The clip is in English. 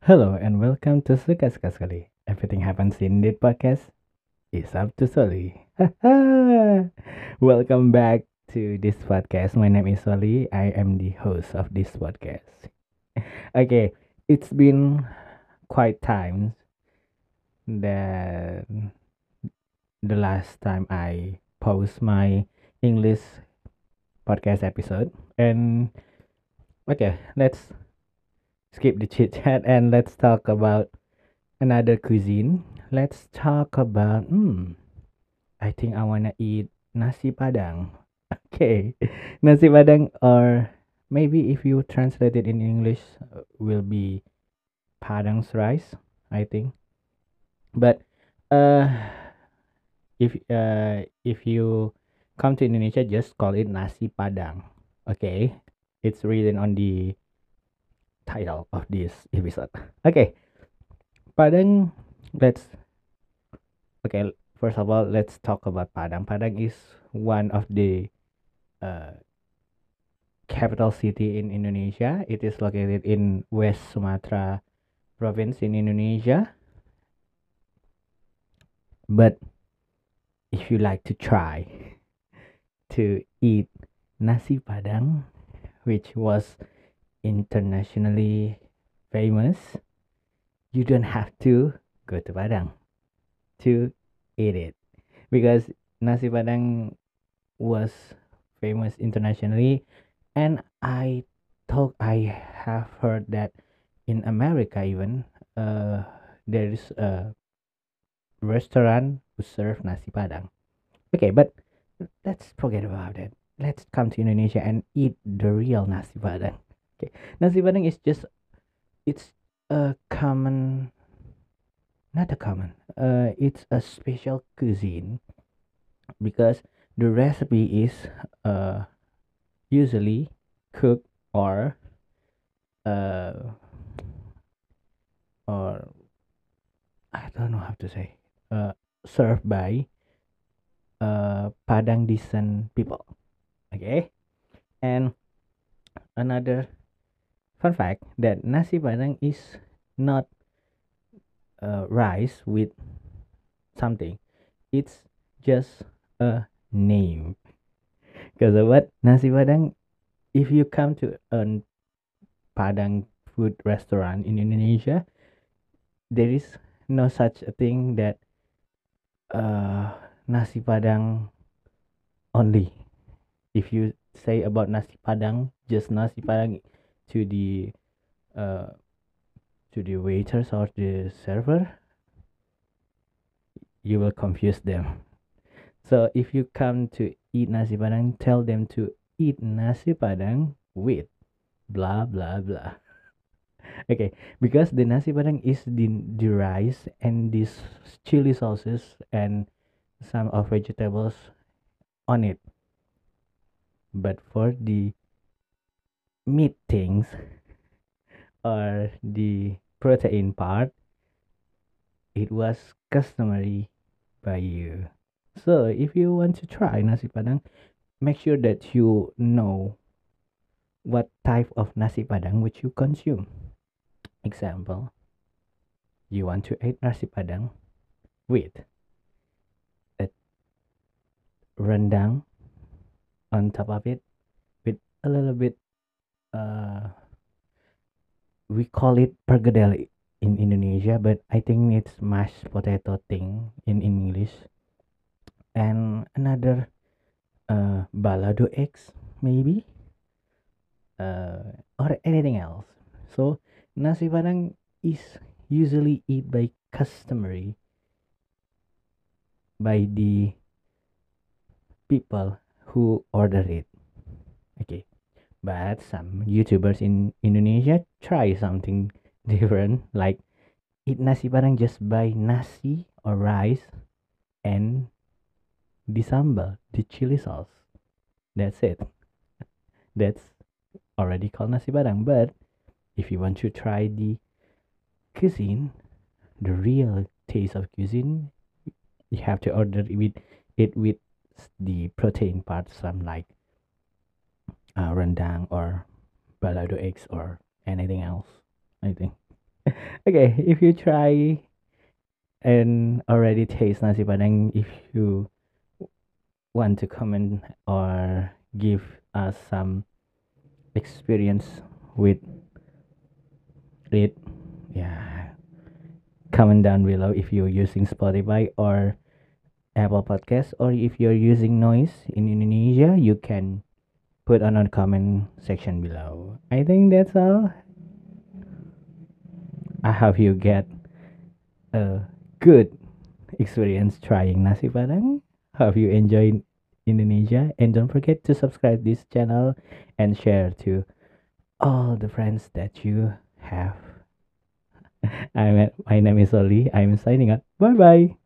Hello and welcome to Suka-Suka Sekali. Everything happens in this podcast is up to Soli. Welcome back to this podcast. My name is Soli. I am the host of this podcast. Okay, it's been quite time that the last time I post my English podcast episode. And okay, let's skip the chit chat and let's talk about another cuisine. Let's talk about I think I wanna eat nasi padang. Okay, nasi padang, or maybe if you translate it in English, will be padang's rice. I think, but uh, if you come to Indonesia, just call it nasi padang. Okay, it's written on the title of this episode. Okay, padang. Let's okay. First of all, let's talk about Padang. Padang is one of the uh, capital city in Indonesia. It is located in West Sumatra province in Indonesia. But if you like to try to eat nasi padang, which was internationally famous, you don't have to go to Padang to eat it, because nasi padang was famous internationally. And I thought I have heard that in America even there is a restaurant who serve nasi padang. Okay, but let's forget about it. Let's come to Indonesia and eat the real nasi padang. Okay, nasi padang is just it's a common, not a common. It's a special cuisine because the recipe is uh usually cooked uh or I don't know how to say served by Padang descent people. Okay, and another fun fact that nasi Padang is not rice with something. It's just a name. Because of what nasi Padang? If you come to a Padang food restaurant in Indonesia, there is no such a thing that uh, nasi Padang only. If you say about nasi Padang, just nasi Padang to the uh, to the waiters or the server, you will confuse them. So if you come to eat nasi Padang, tell them to eat nasi Padang with blah blah blah. Okay, because the nasi Padang is the rice and these chili sauces and some of vegetables on it. But for the meat things or the protein part, it was customary by you. So if you want to try nasi padang, make sure that you know what type of nasi padang which you consume. Example, you want to eat nasi padang with a rendang on top of it with a little bit uh we call it pergedel in Indonesia, but I think it's mashed potato thing in English. And another balado eggs maybe or anything else. So nasi padang is usually eat by customary by the people who order it. Okay, but some YouTubers in Indonesia try something different, like eat nasi padang just by nasi or rice and the sambal, the chili sauce. That's it. That's already called nasi padang. But if you want to try the cuisine, the real taste of cuisine, you have to order it with the protein part, some like rendang or balado eggs or anything else, I think. Okay, if you try and already taste nasi padang, if you want to comment or give us some experience with it, yeah, comment down below if you're using Spotify or Apple Podcast, or if you're using Noise in Indonesia, you can put on a comment section below. I think that's all. I hope you get a good experience trying nasi padang. Hope you enjoy Indonesia, and don't forget to subscribe this channel and share to all the friends that you have. My name is Oli. I'm signing out. Bye bye.